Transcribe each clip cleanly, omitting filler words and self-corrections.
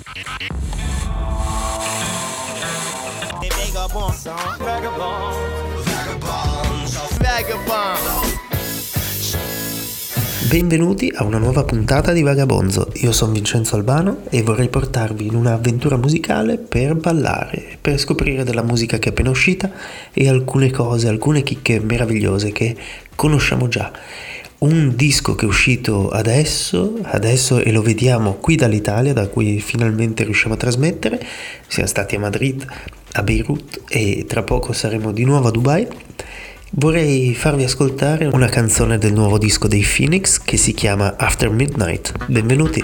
Benvenuti a una nuova puntata di Vagabonzo. Io sono Vincenzo Albano e vorrei portarvi in un'avventura musicale per ballare, per scoprire della musica che è appena uscita e alcune cose, alcune chicche meravigliose che conosciamo già. Un disco che è uscito adesso e lo vediamo qui dall'Italia, da cui finalmente riusciamo a trasmettere. Siamo stati a Madrid, a Beirut e tra poco saremo di nuovo a Dubai. Vorrei farvi ascoltare una canzone del nuovo disco dei Phoenix che si chiama After Midnight. Benvenuti!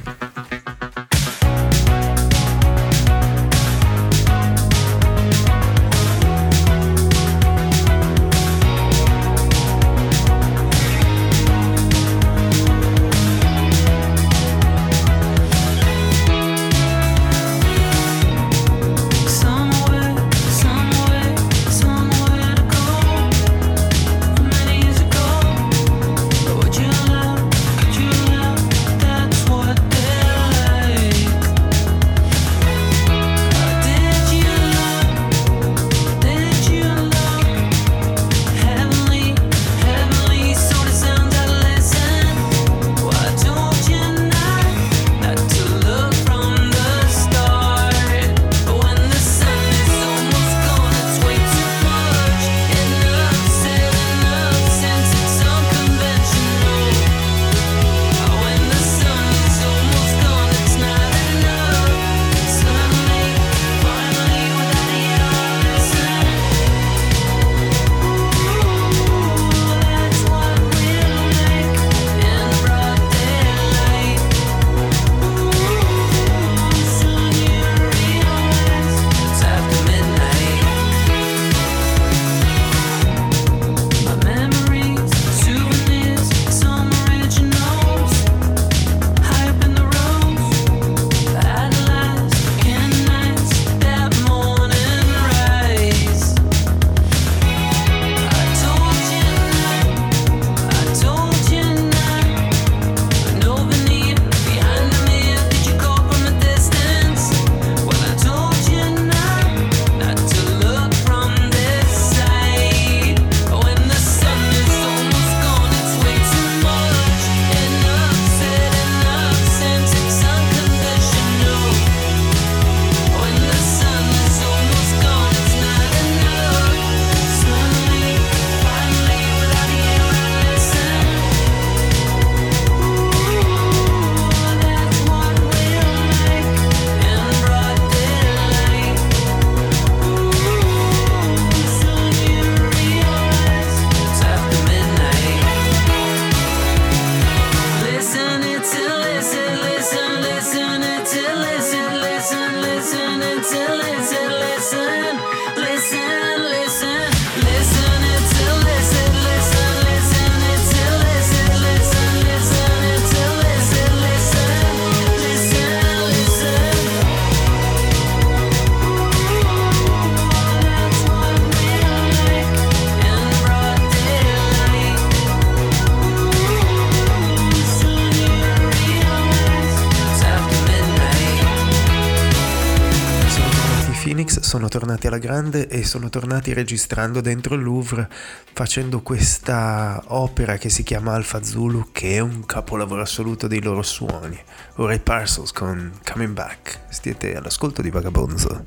Sono tornati alla grande e sono tornati registrando dentro il Louvre, facendo questa opera che si chiama Alpha Zulu, che è un capolavoro assoluto dei loro suoni. Ora i Parcels con Coming Back. Siete all'ascolto di Vagabonzo.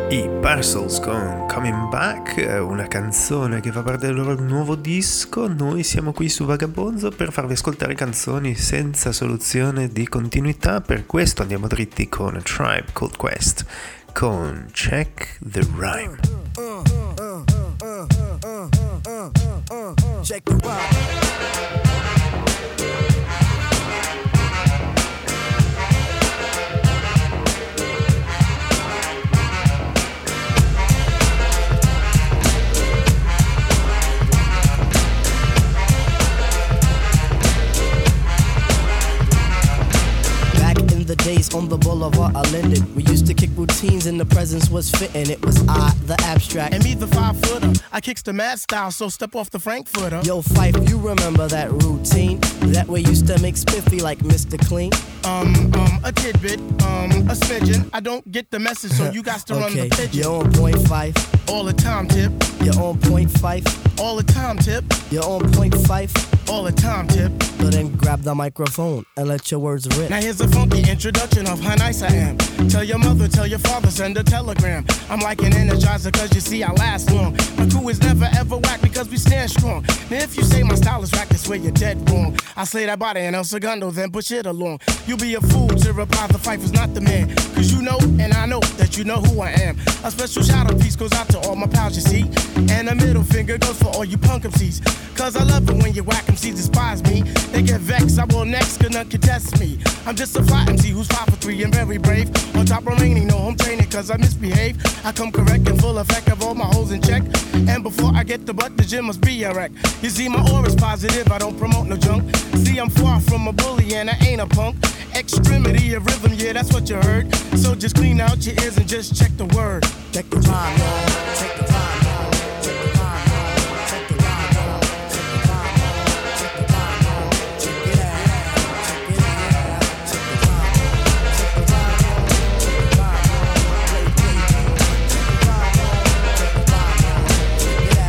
I Parcels con Coming Back, una canzone che fa parte del loro nuovo disco. Noi siamo qui su Vagabonzo per farvi ascoltare canzoni senza soluzione di continuità, per questo andiamo dritti con A Tribe Called Quest con Check the Rhyme. Check the rhyme. The days on the boulevard are Linden. We used to kick routines and the presence was fitting. It was I, the abstract, and me, the 5-footer. I kicks the mad style, so step off the Frankfurter. Yo, Fife, you remember that routine? That way used to make spiffy like Mr. Clean. A tidbit, a smidgen. I don't get the message, so you got to run the pigeon. You're on point, Fife. All the time, Tip. You're on point, Fife. All the time, Tip. You're on point, Fife. All the time, Tip. So then grab the microphone and let your words rip. Now here's a funky introduction of how nice I am. Tell your mother, tell your father, send a telegram. I'm like an energizer cause you see I last long. My crew is never ever whack because we stand strong. Now if you say my style is whack, that's where you're dead wrong. I slay that body in El Segundo, then push it along. You'll be a fool to reply the fight was not the man. Cause you know and I know that you know who I am. A special shout out piece goes out to all my pals you see. And a middle finger goes for all you punk MCs. Cause I love it when you whack MCs despise me. They get vexed, I will next, cause none contest me. I'm just a fly MC who's 5 for 3 and very brave. On top remaining, no home training cause I misbehave. I come correct and full effect of all my hoes in check. And before I get the butt, the gym must be a wreck. You see my aura's positive, I don't promote no junk. See I'm far from a bully and I ain't a punk. Extremity of rhythm, yeah that's what you heard. So just clean out your ears and just check the word. Check the time, y'all. Check the time, y'all. Check the time, y'all. Check the time, y'all. Check the time, y'all. Check the time, y'all. Check it out. Check it out. Check the time, y'all. Check the time, y'all. Check the time, y'all. Play, play, check the time, y'all. Check the time, y'all. Check it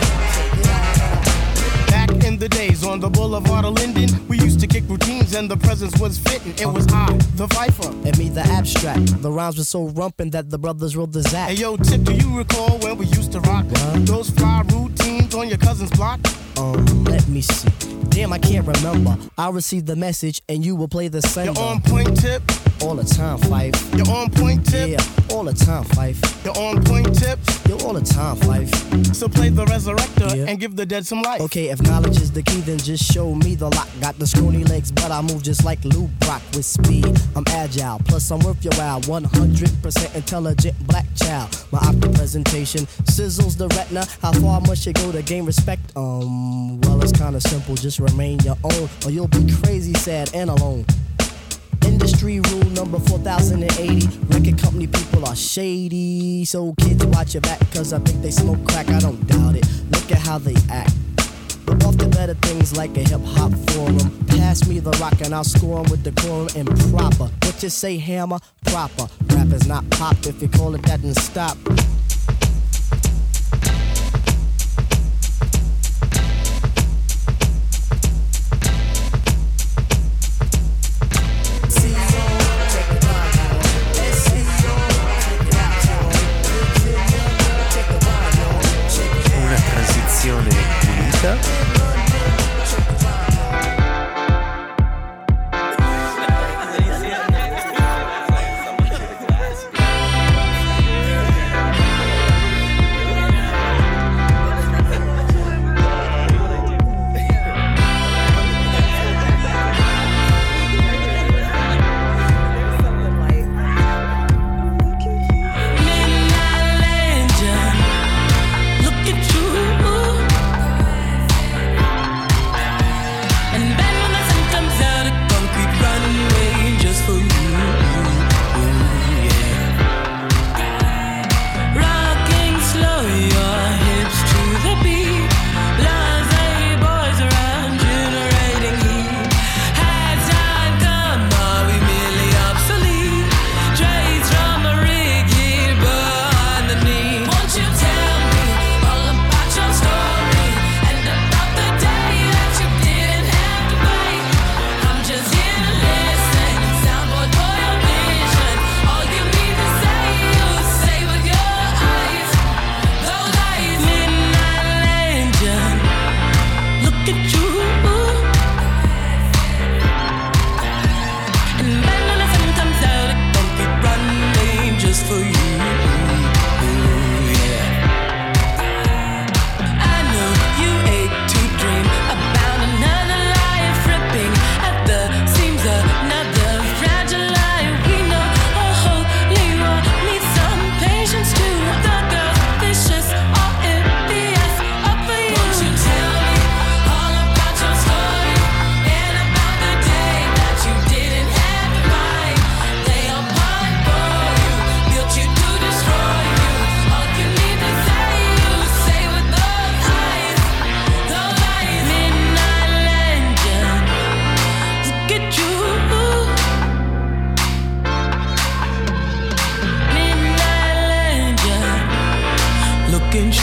out. Check it out. Back in the days on the boulevard of Linden, we used to kick routines and the presence was fitting. It was I, the Viper. And me, the abstract. The rhymes were so rumpin' that the brothers wrote the Zach. Hey yo, Tip, do you recall when we used to rock those fly routines on your cousin's block? Let me see. Damn, I can't remember. I'll receive the message and you will play the sender. You're on point, Tip. All the time, Fife. You're on point, Tip. Yeah, all the time, Fife. You're on point, Tip. You're all the time, Fife. So play the resurrector and give the dead some life. Okay, if knowledge is the key, then just show me the lock. Got the scrawny legs, but I move just like Lou Brock with speed. I'm agile, plus I'm worth your while. 100% intelligent black child. My opera presentation sizzles the retina. How far must you go to gain respect? Well, it's kinda simple. Just remain your own, or you'll be crazy, sad, and alone. Industry rule number 4080. Record company people are shady. So kids watch your back, cause I think they smoke crack. I don't doubt it. Look at how they act. But off to better things like a hip-hop forum. Pass me the rock and I'll score 'em with decorum and proper. What you say, hammer? Proper. Rap is not pop. If you call it that, then stop. Una transizione pulita.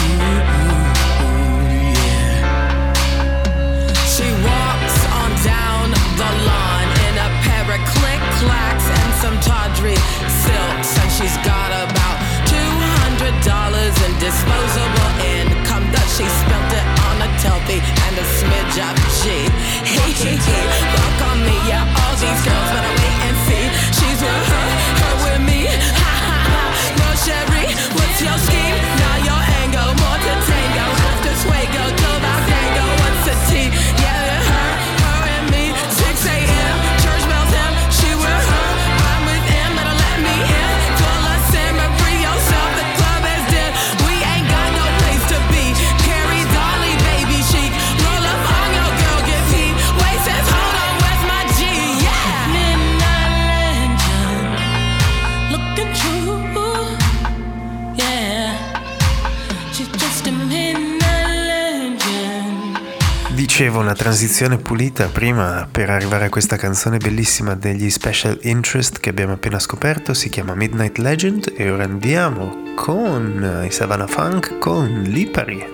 She walks on down the lawn in a pair of click-clacks and some tawdry silks, and she's got about $200 in disposable income that she spent it on a Telfie and a smidge of G. Fuck on me, yeah, all these girls better wait and see. She's with her with me. Ha ha ha. No Sherry, what's your scheme? Now your angle, more to tango. After Swago, till about tango. What's the tea? Yeah, her and me. 6 a.m. church bells him. She with her, I'm with him. Better let me in. Full of simmer, free yourself. The club is dead. We ain't got no place to be. Carrie Dolly, baby chic. Roll up on your girl, get heat. Waist says, hold on, where's my G? Yeah. Midnight legend, looking true. Yeah, she's just a midnight legend. Dicevo, una transizione pulita prima per arrivare a questa canzone bellissima degli Special Interest che abbiamo appena scoperto. Si chiama Midnight Legend e ora andiamo con i Savannah Funk con Lipari.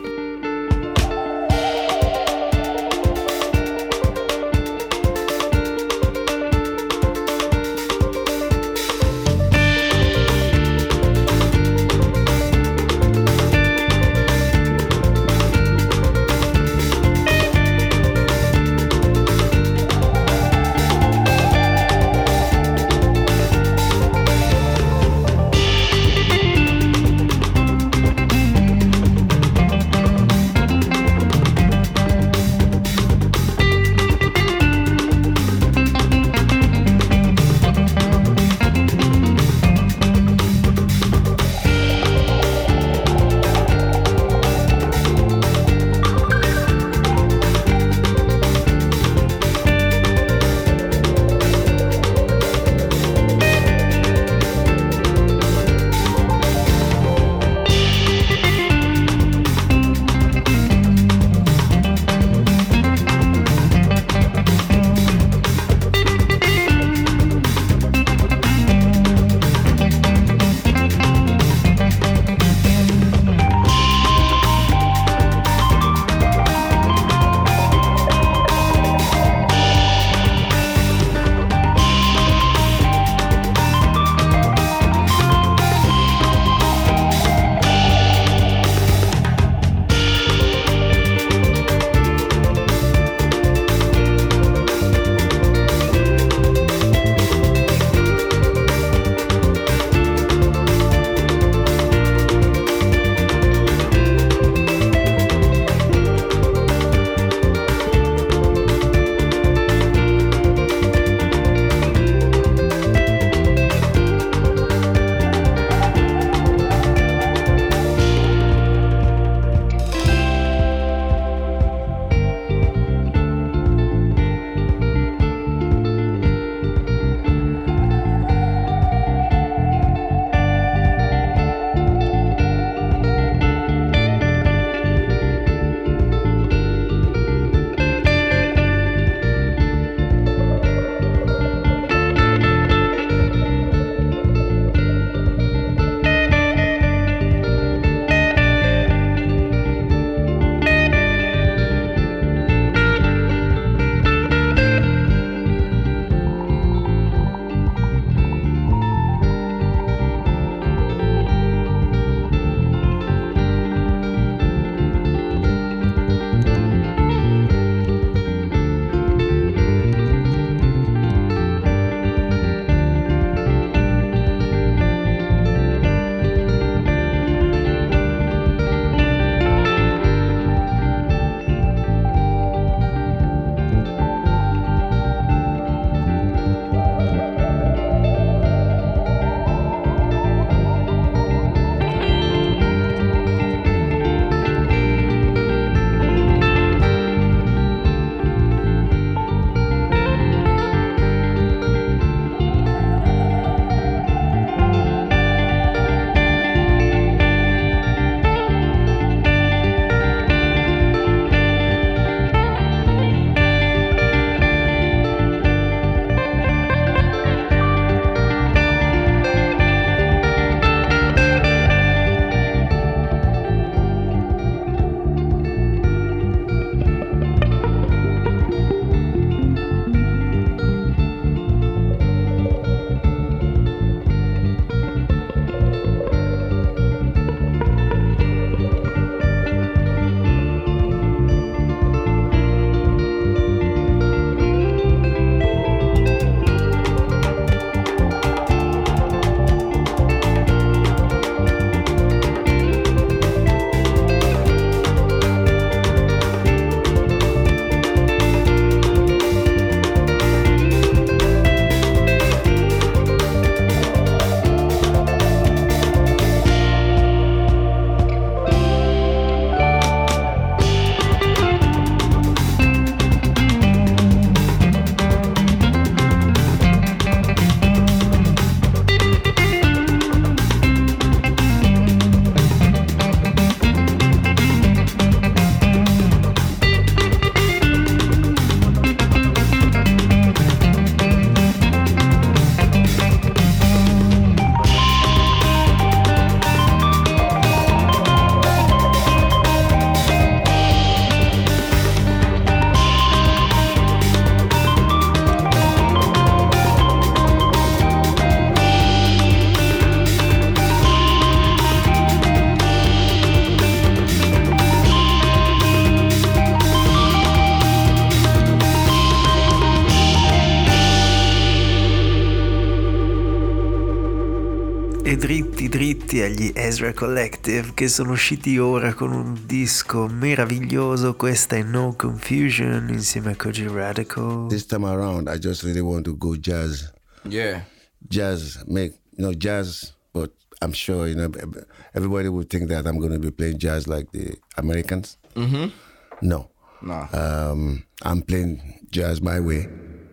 E dritti agli Ezra Collective, che sono usciti ora con un disco meraviglioso. Questa è No Confusion insieme a Kojey Radical. This time around I just really want to go jazz. Yeah. Jazz, jazz, but I'm sure, everybody would think that I'm going to be playing jazz like the Americans. Mm-hmm. No. Nah. I'm playing jazz my way.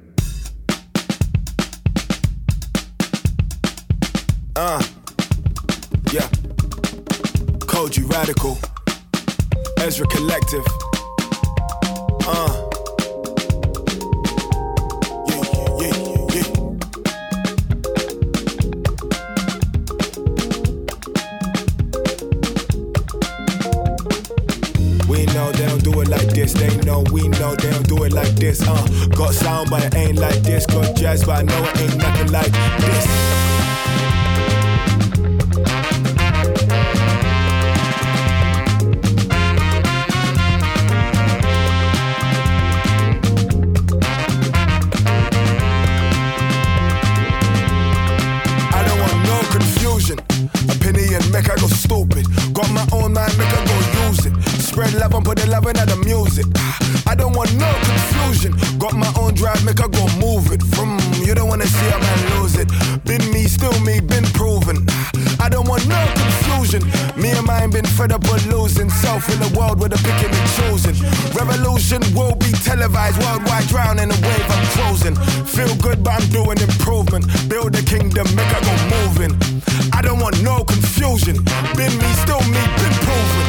Yeah. Kojey Radical. Ezra Collective. Yeah. We know they don't do it like this. They know we know they don't do it like this. Got sound but it ain't like this. Got jazz but I know it ain't nothing like this. Make I go stupid. Got my own mind, make I go use it. Spread love and put the love into the music. I don't want no confusion. Got my own drive, make I go move it. You don't wanna see a man lose it. Been me, still me, been proven. I don't want no confusion. Me and mine been fed up with losing. Self in the world with a picking and choosing. Revolution will be televised. Worldwide drown in a wave I'm closing. Feel good but I'm doing improvement. Build a kingdom, make I go moving. I don't want no confusion. Been me, still me, been proven.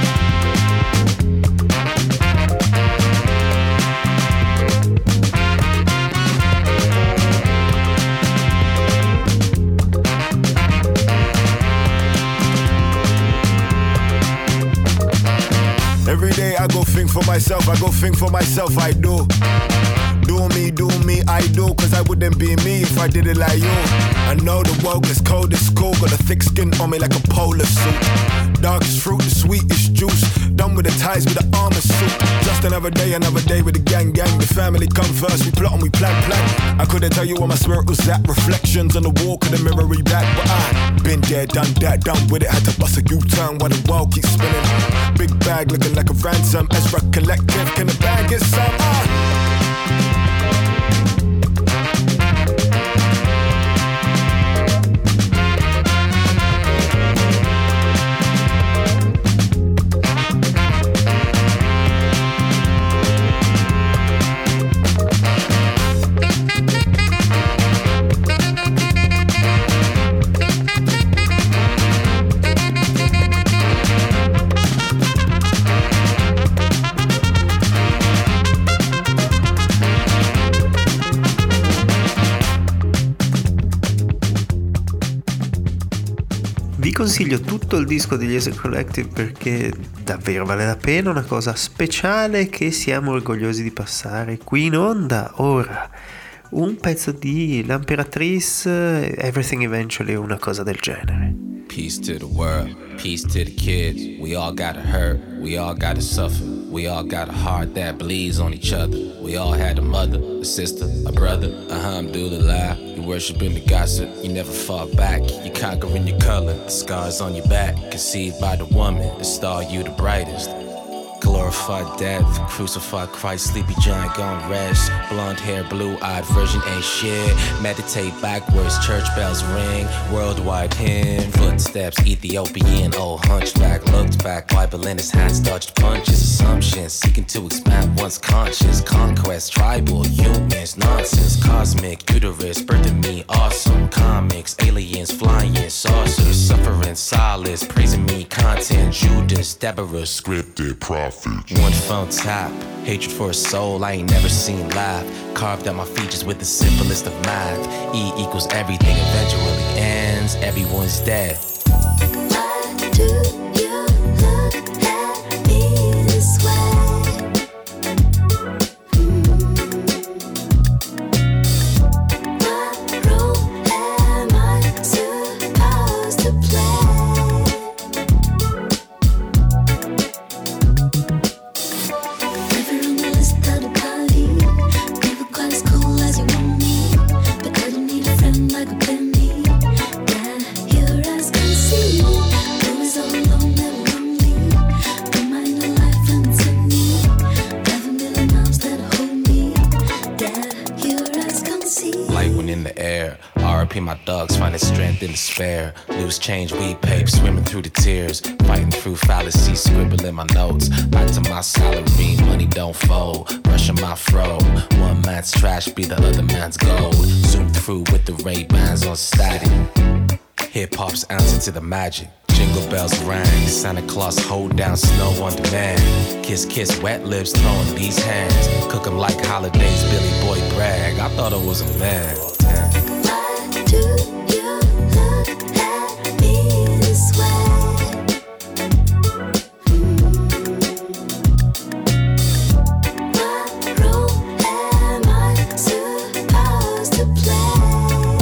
Every day I go think for myself, I do. Do me, I do. Cause I wouldn't be me if I did it like you. I know the world gets cold, it's cool. Got a thick skin on me like a polar suit. Darkest fruit, the sweetest juice. Done with the ties with the armor suit. Just another day with the gang. The family come first, we plot and we plan. I couldn't tell you where my spirit was at. Reflections on the wall, couldn't mirror back. But I been there, done that, done with it. Had to bust a U-turn while the world keeps spinning. Big bag looking like a ransom. Ezra Collective, can the bag get some? Vi consiglio tutto il disco degli Ezra Collective perché davvero vale la pena, una cosa speciale che siamo orgogliosi di passare qui in onda ora. Un pezzo di L'Imperatrice, Everything Eventually, una cosa del genere. Peace to the world, peace to the kids. We all gotta hurt, we all gotta suffer. We all got a heart that bleeds on each other. We all had a mother, a sister, a brother. Alhamdulillah, you worshiping the gossip. You never fought back, you conquering your color. The scars on your back, conceived by the woman. The star you the brightest. Glorified death, crucified Christ, sleepy giant gone rest. Blonde hair, blue-eyed virgin ain't shit. Meditate backwards, church bells ring. Worldwide hymn, footsteps, Ethiopian. Old hunchback looked back, Bible in his hands, dodged punches. Assumptions, seeking to expand one's conscience. Conquest, tribal, humans, nonsense. Cosmic, uterus, birthing me, awesome. Comics, aliens, flying, saucers. Suffering, solace, praising me, content. Judas, Deborah, scripted, prophet. One phone tap, hatred for a soul I ain't never seen live. Carved out my features with the simplest of math. E equals everything eventually ends, everyone's dead. Why do you look at me this way? What role am I supposed to play? Never on the list of the party. Never quite as cool as you want me, but couldn't need a friend like a penny. Yeah, you're wrapped in despair. Loose change, weed paper, swimming through the tears. Fighting through fallacies, scribbling my notes. Back to my salary, money don't fold. Brushing my fro. One man's trash be the other man's gold. Zoom through with the Ray-Bans on static. Hip-hop's answer to the magic. Jingle bells rang, Santa Claus hold down snow on demand. Kiss, kiss, wet lips, throwing these hands. Cook 'em like holidays, Billy Boy brag. I thought I was a man. Why do you look at me this way? What role am I supposed to play?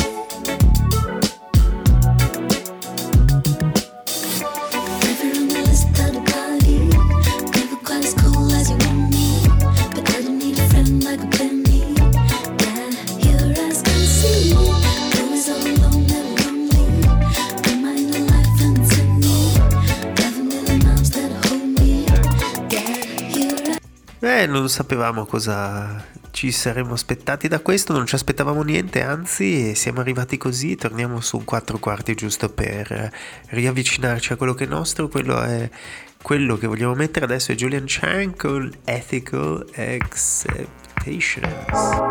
Never on the list of the party. Never quite as cool as you want me, but I don't need a friend like a penny. Yeah, you're as can see. Always all alone, never lonely. Am I in a life and it's in me? 11 million arms that hold me. Yeah, you're Non sapevamo cosa ci saremmo aspettati da questo, non ci aspettavamo niente, anzi siamo arrivati così, torniamo su un 4/4 giusto per riavvicinarci a quello che è nostro. Quello è quello che vogliamo mettere adesso, è Julian Chang con Ethical Acceptations.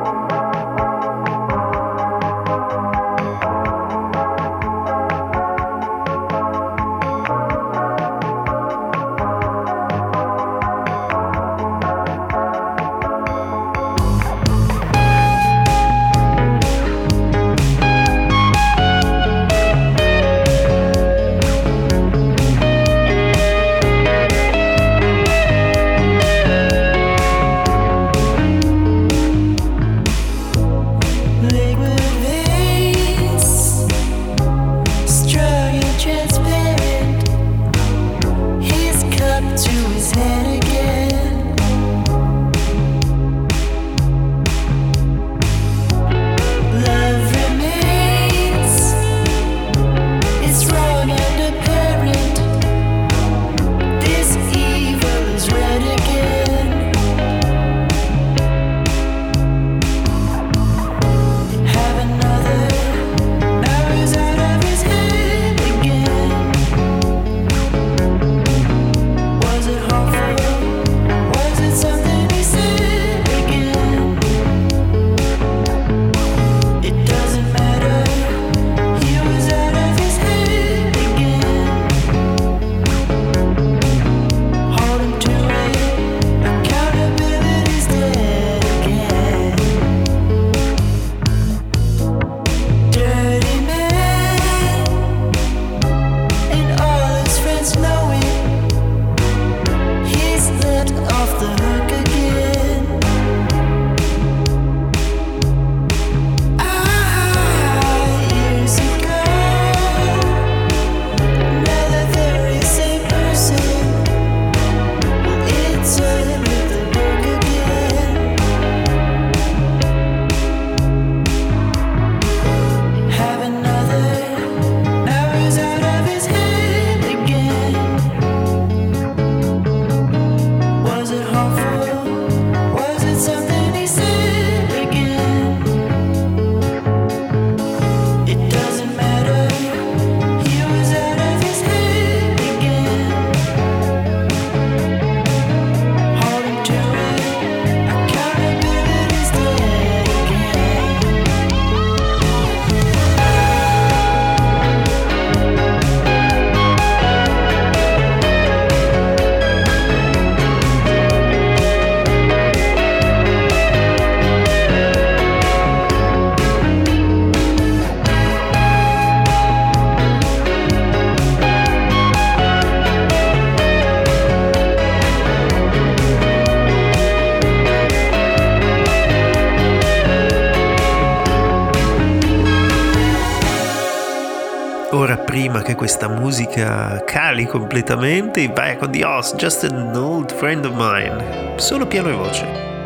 Ora, prima che questa musica cali completamente, i Back on the Oz, Just an Old Friend of Mine, solo piano e voce.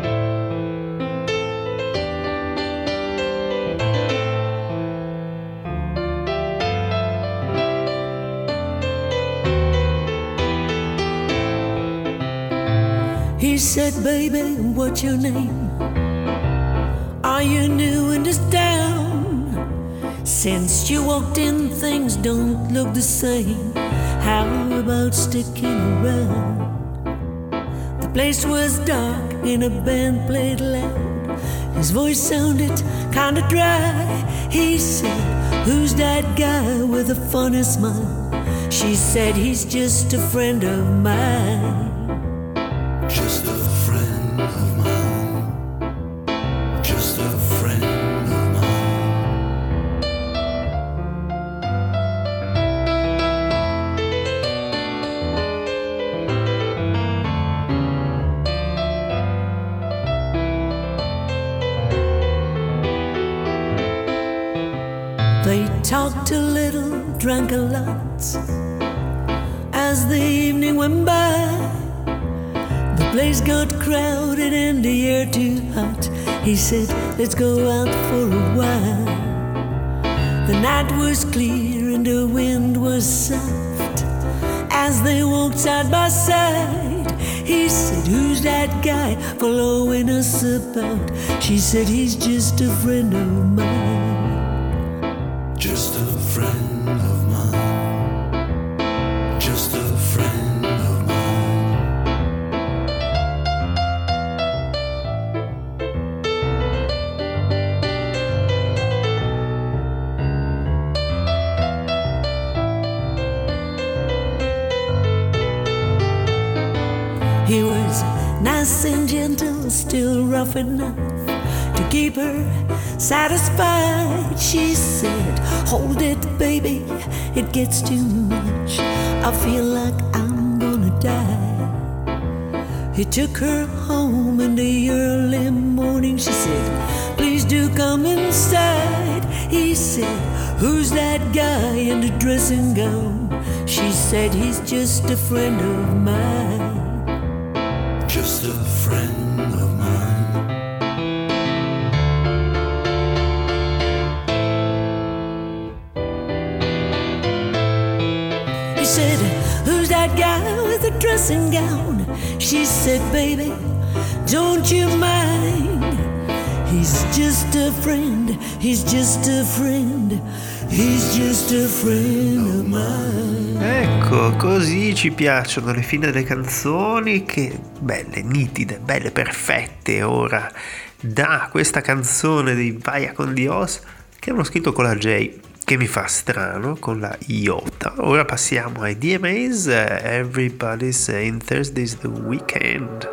He said, baby, what's your name? Are you new in this town? Since you walked in, things don't look the same. How about sticking around? The place was dark and a band played loud. His voice sounded kinda dry. He said, "Who's that guy with a funny smile?" She said, "He's just a friend of mine." Just a friend of mine. Just a friend of mine. They talked a little, drank a lot. As the evening went by, the place got crowded and the air too hot. He said, "Let's go out for a while." The night was clear and the wind was soft. As they walked side by side, he said, "Who's that guy following us about?" She said, "He's just a friend of mine." Just a friend of mine. Just a friend of mine. He was nice and gentle, still rough enough to keep her satisfied. She said, "Hold it, baby, it gets too much. I feel like I'm gonna die." He took her home in the early morning. She said, "Please do come inside." He said, "Who's that guy in the dressing gown?" She said, "He's just a friend of mine." Just a friend of mine. He said, "Who's that guy with the dressing gown?" She said, "Baby, don't you mind. He's just a friend, he's just a friend, he's just a friend of mine." Ecco, così ci piacciono le fine delle canzoni, che belle, nitide, belle, perfette. Ora, da questa canzone di Vaya con Dios, che hanno scritto con la J, che mi fa strano, con la iota. Ora passiamo ai DMAs. Everybody's saying Thursday's the weekend.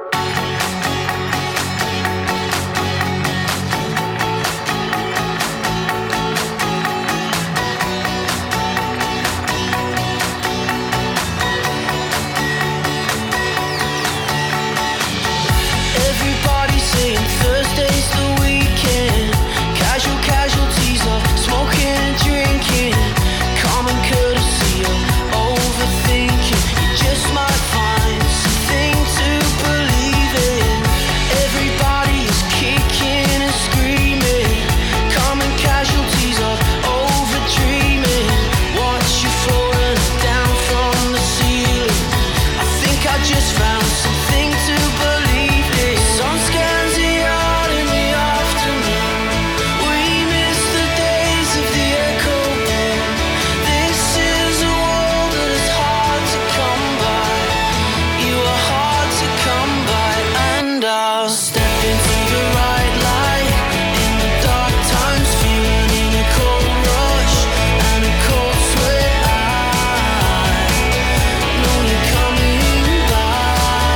Everybody's saying Thursday's the weekend. Casualties of smoking and drinking. Common courtesy of overthinking. You just might find something to believe in. Everybody is kicking and screaming. Common casualties of overdreaming. Watch you falling down from the ceiling. I think I just found something to believe in. Sun scans the yard in the afternoon. We miss the days of the echo boom. This is a world that is hard to come by. You are hard to come by, and I'll step into the right light in the dark times, feeling a cold rush and a cold sweat. I know you're coming by.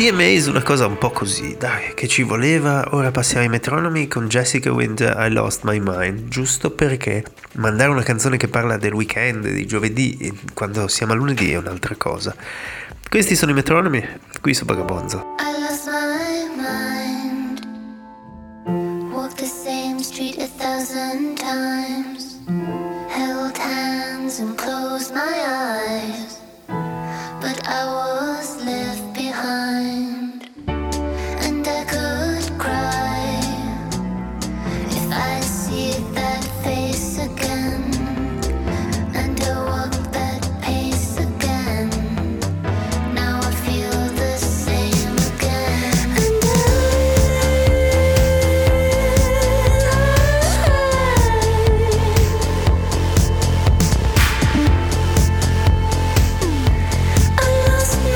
DMAs una cosa un po' così, dai, che ci voleva. Ora passiamo ai metronomi con Jessica Winter, I Lost My Mind, giusto perché mandare una canzone che parla del weekend, di giovedì, quando siamo a lunedì è un'altra cosa. Questi sono i metronomi, qui su Vagabonzo. I lost my mind. Walked the same street 1,000 times. Held hands and closed my eyes. But I was left behind. And I could cry if I see that face again. And I walk that pace again. Now I feel the same again. And I lost my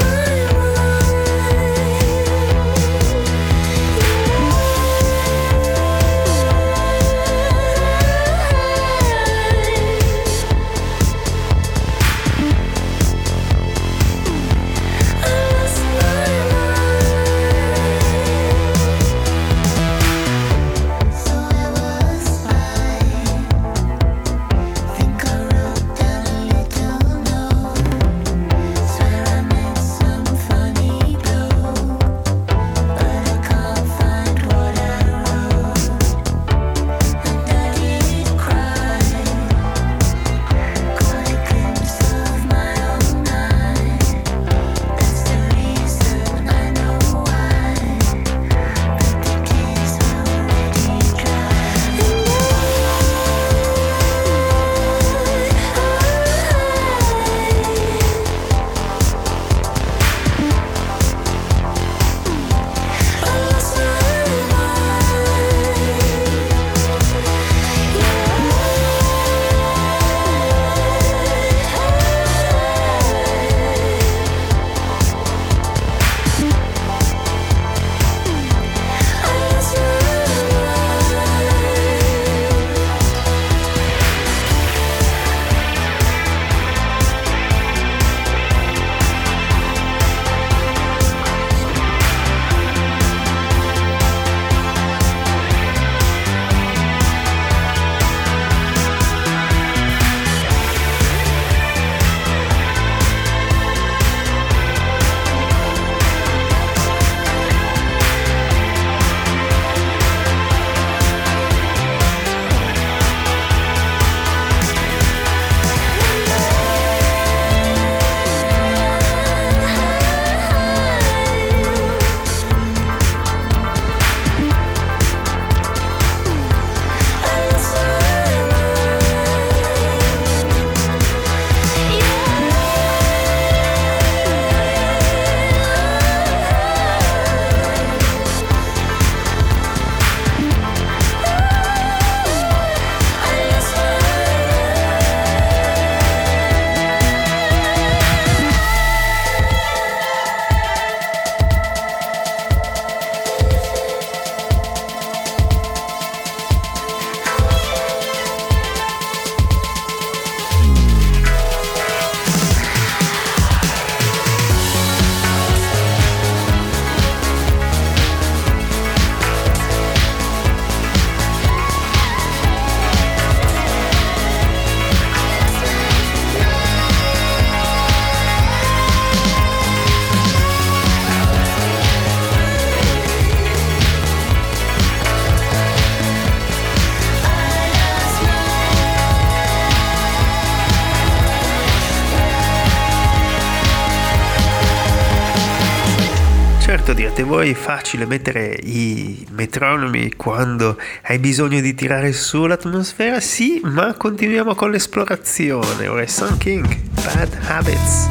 so I was fine. Think I wrote down a little note. Swear I met some funny bloke, but I can't find what I wrote. And I did cry, caught a glimpse of my own eye. That's the reason I know why. But the tears were already dry. Certo, direte voi, è facile mettere i metronomi quando hai bisogno di tirare su l'atmosfera? Sì, ma continuiamo con l'esplorazione. Ora è Sun King, Bad Habits.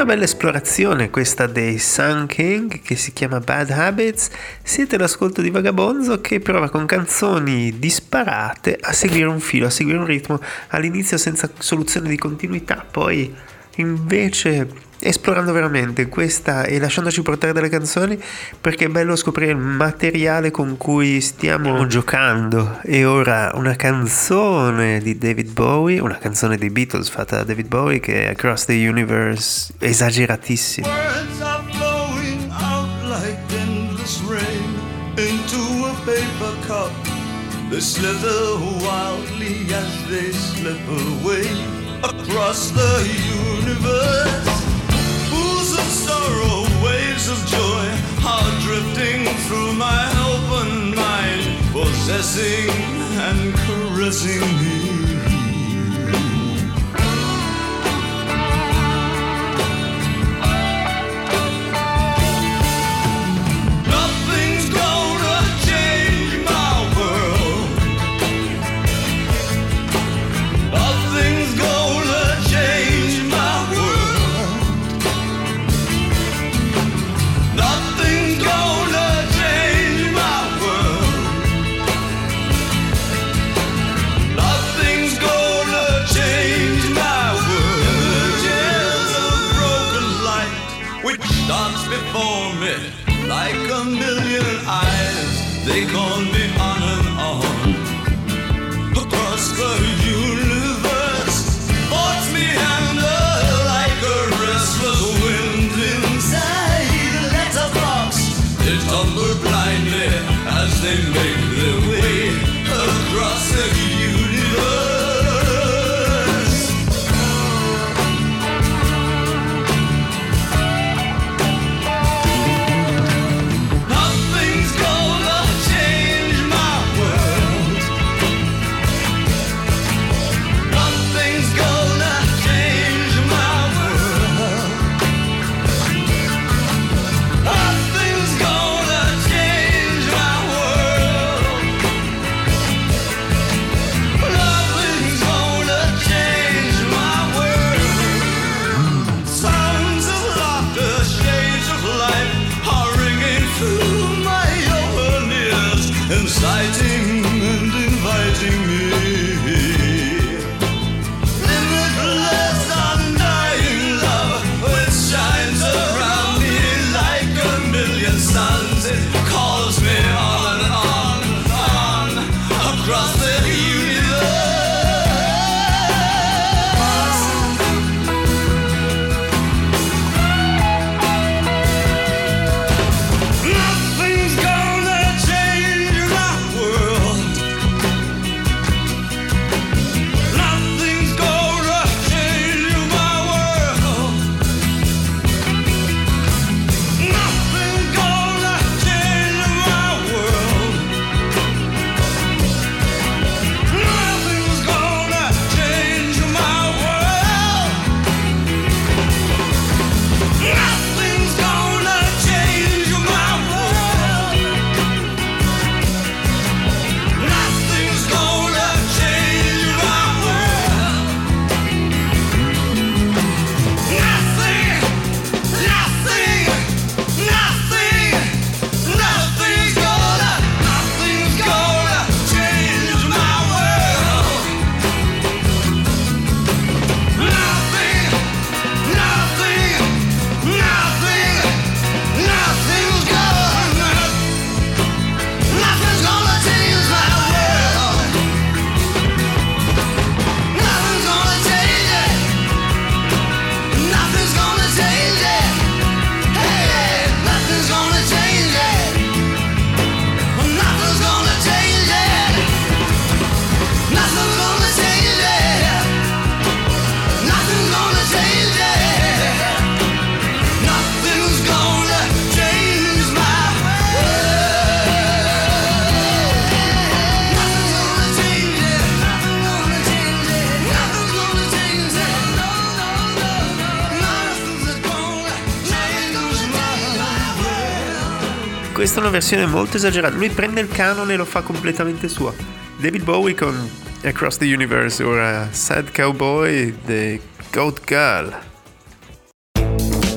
bella esplorazione questa dei Sun King, che si chiama Bad Habits. Siete all'ascolto di Vagabonzo, che prova con canzoni disparate a seguire un filo, a seguire un ritmo, all'inizio senza soluzione di continuità, poi invece esplorando veramente questa e lasciandoci portare dalle canzoni, perché è bello scoprire il materiale con cui stiamo giocando. E ora una canzone di David Bowie, una canzone dei Beatles fatta da David Bowie, che è Across the Universe, esageratissima. Words are flowing out like endless rain into a paper cup. They slither wildly as they slip away across the universe. Pools of sorrow, waves of joy are drifting through my open mind, possessing and caressing me. Before me, like a million eyes, they call me on and on. Across the universe, thoughts meander like a restless wind inside a letterbox. They tumble blindly as they make their way across the universe. Inciting and inviting me, limitless undying love, which shines around me like a million suns. It calls me on and on and on across the universe. Nothing's gonna change my world. Nothing's gonna change my world. Nothing's gonna change my world. Nothing's gonna change my world. Nothing's gonna change my world. Nothing's gonna change my world. Nothing's gonna change it. Hey, nothing's gonna change it. Nothing's gonna change it. Nothing's gonna change it. Nothing's gonna change it. Nothing's gonna change my world. Nothing's gonna change it. Nothing's gonna change it. Nothing's gonna change it. No, no, no, no. Nothing's gonna change my world. Questa è una versione molto esagerata, lui prende il canone e lo fa completamente suo. David Bowie con Across the Universe, ora Sad Cowboy, The Goat Girl.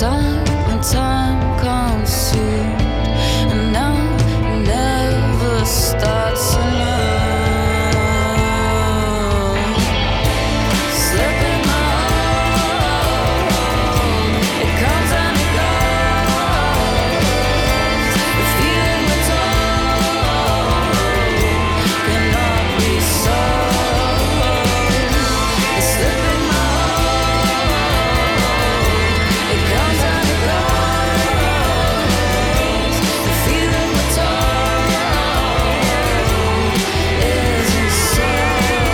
Summertime comes soon, and now it never starts enough. Slipping my arm, it comes and it goes. The feeling we're told cannot be solved. It's slipping my arm, it comes and it goes. The feeling we're told isn't solved.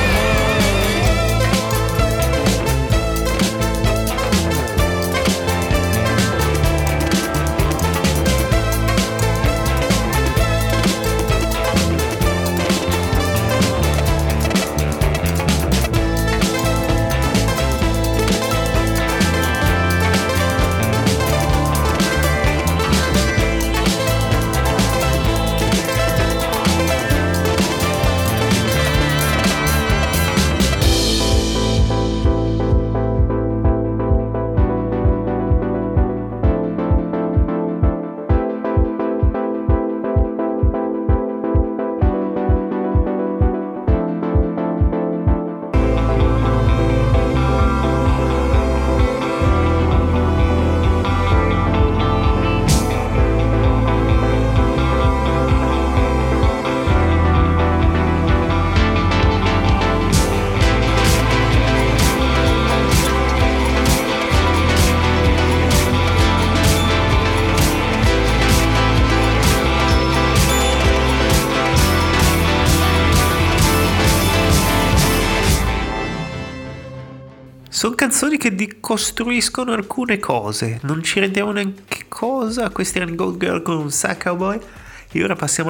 Sono canzoni che decostruiscono alcune cose, non ci rendiamo neanche cosa. Questi erano Gold Girl con Sack Cowboy e ora passiamo a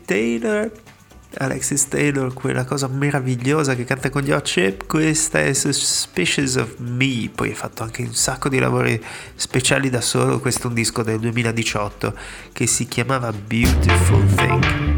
Alexis Taylor, quella cosa meravigliosa che canta con gli Hot Chip. Questa è Suspicious of Me, poi ha fatto anche un sacco di lavori speciali da solo. Questo è un disco del 2018 che si chiamava Beautiful Thing.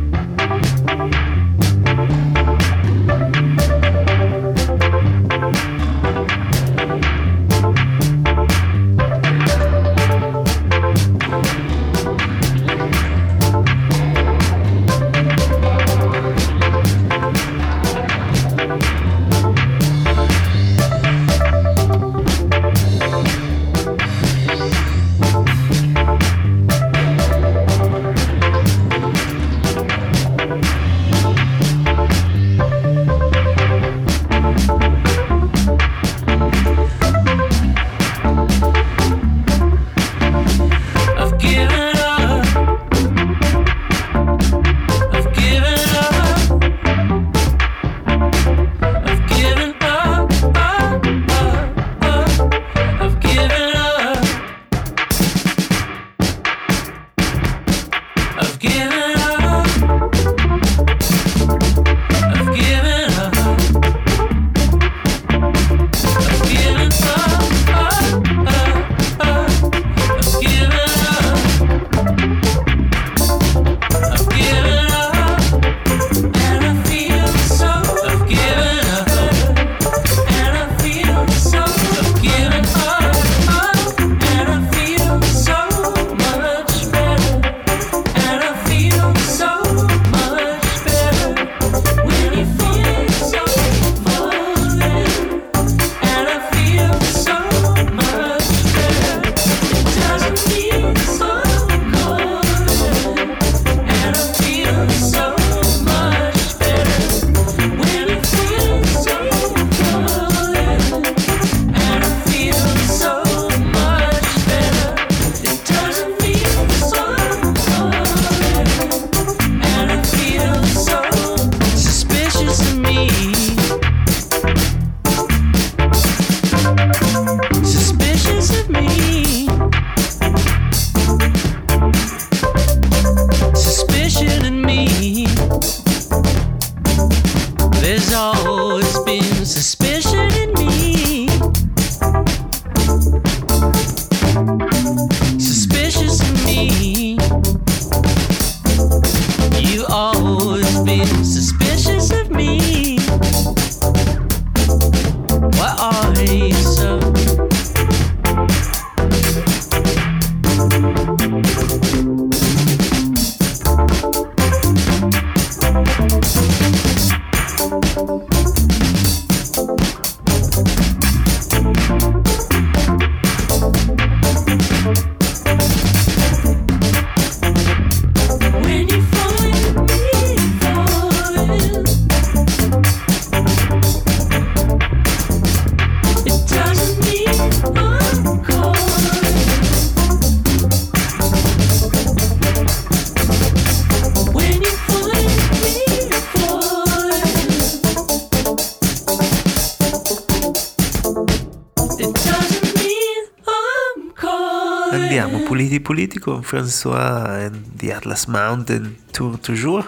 Andiamo puliti puliti con François and the Atlas Mountain Tour toujours.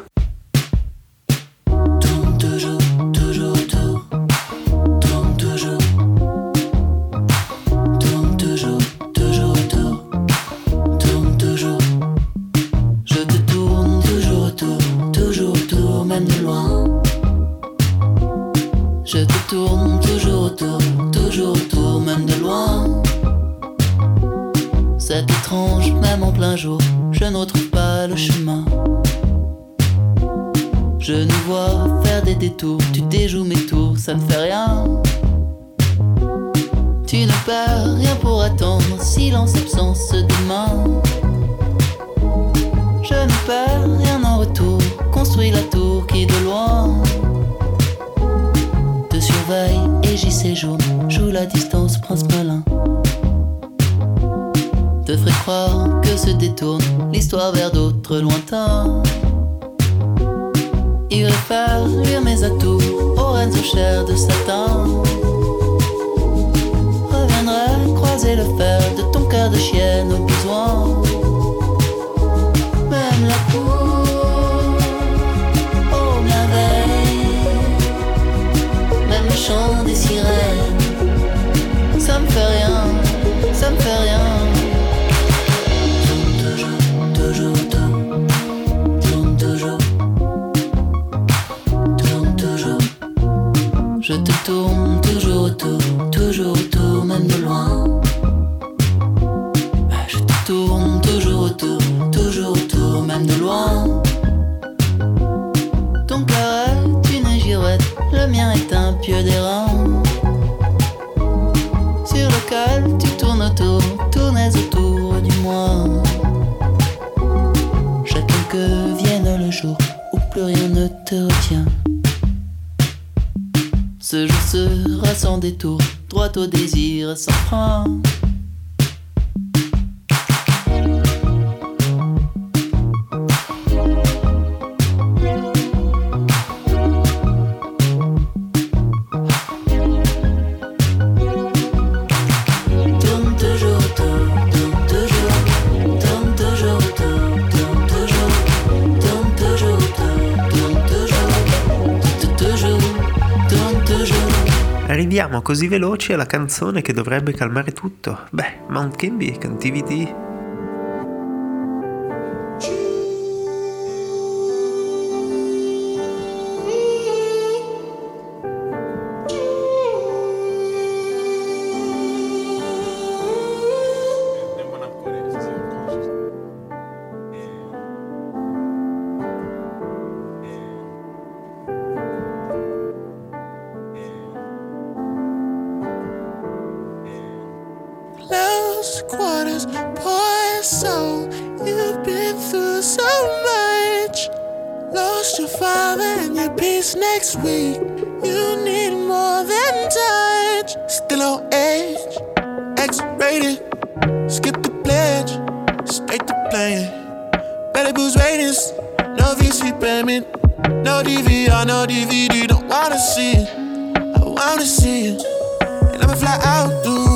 Tourne toujours, toujours autour. Tourne toujours. Tourne toujours, toujours autour. Tourne toujours. Je te tourne toujours autour, même de loin. Je te tourne toujours autour, même de loin. C'est étrange, même en plein jour, je ne retrouve pas le chemin. Je nous vois faire des détours, tu déjoues mes tours, ça ne fait rien. Tu ne perds rien pour attendre, silence, absence demain. Je ne perds rien en retour, construis la tour qui de loin te surveille et j'y séjourne, joue la distance, prince malin. Te ferait croire que se détourne l'histoire vers d'autres lointains. Irais faire luire mes atouts aux reines aux chairs de satin. Reviendrai croiser le fer de ton cœur de chienne au besoin. Même la cour, oh merveille. Même le chant des sirènes, ça me fait rien, ça me fait rien. Toujours autour, tourne toujours, tourne toujours. Je te tourne toujours autour, même de loin. Je te tourne toujours autour, même de loin. Ton cœur est une girouette, le mien est un pieu d'airain. Sur lequel tu tournes autour, tournais autour du moi. Que vienne le jour où plus rien ne te retient. Ce jour sera sans détour, droit au désir sans frein. Arriviamo così veloci alla canzone che dovrebbe calmare tutto. Beh, Mount Kimby, Cantivity. Quarters, poor soul. You've been through so much. Lost your father and your peace next week. You need more than touch. Still on edge, X-rated. Skip the pledge, straight to playing. Belly boost ratings, no VC payment. No DVR, no DVD, don't wanna see it. I wanna see it. And I'ma fly out, dude.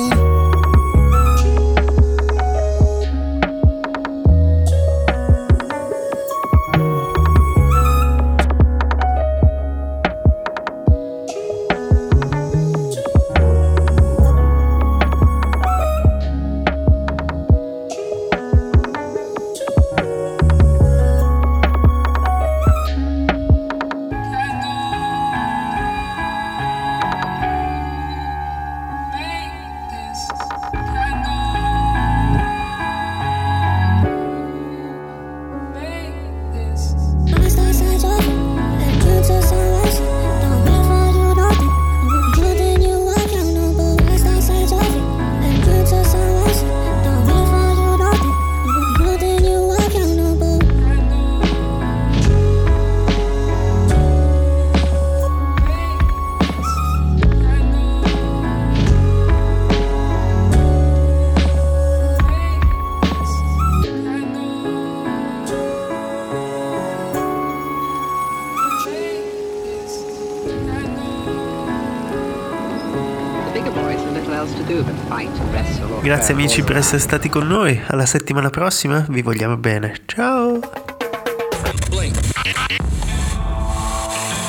else to do but fight, wrestle, or Grazie crawl amici per around. essere stati con noi. Alla settimana prossima, vi vogliamo bene. Ciao.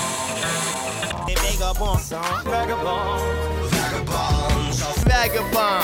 Vagabond.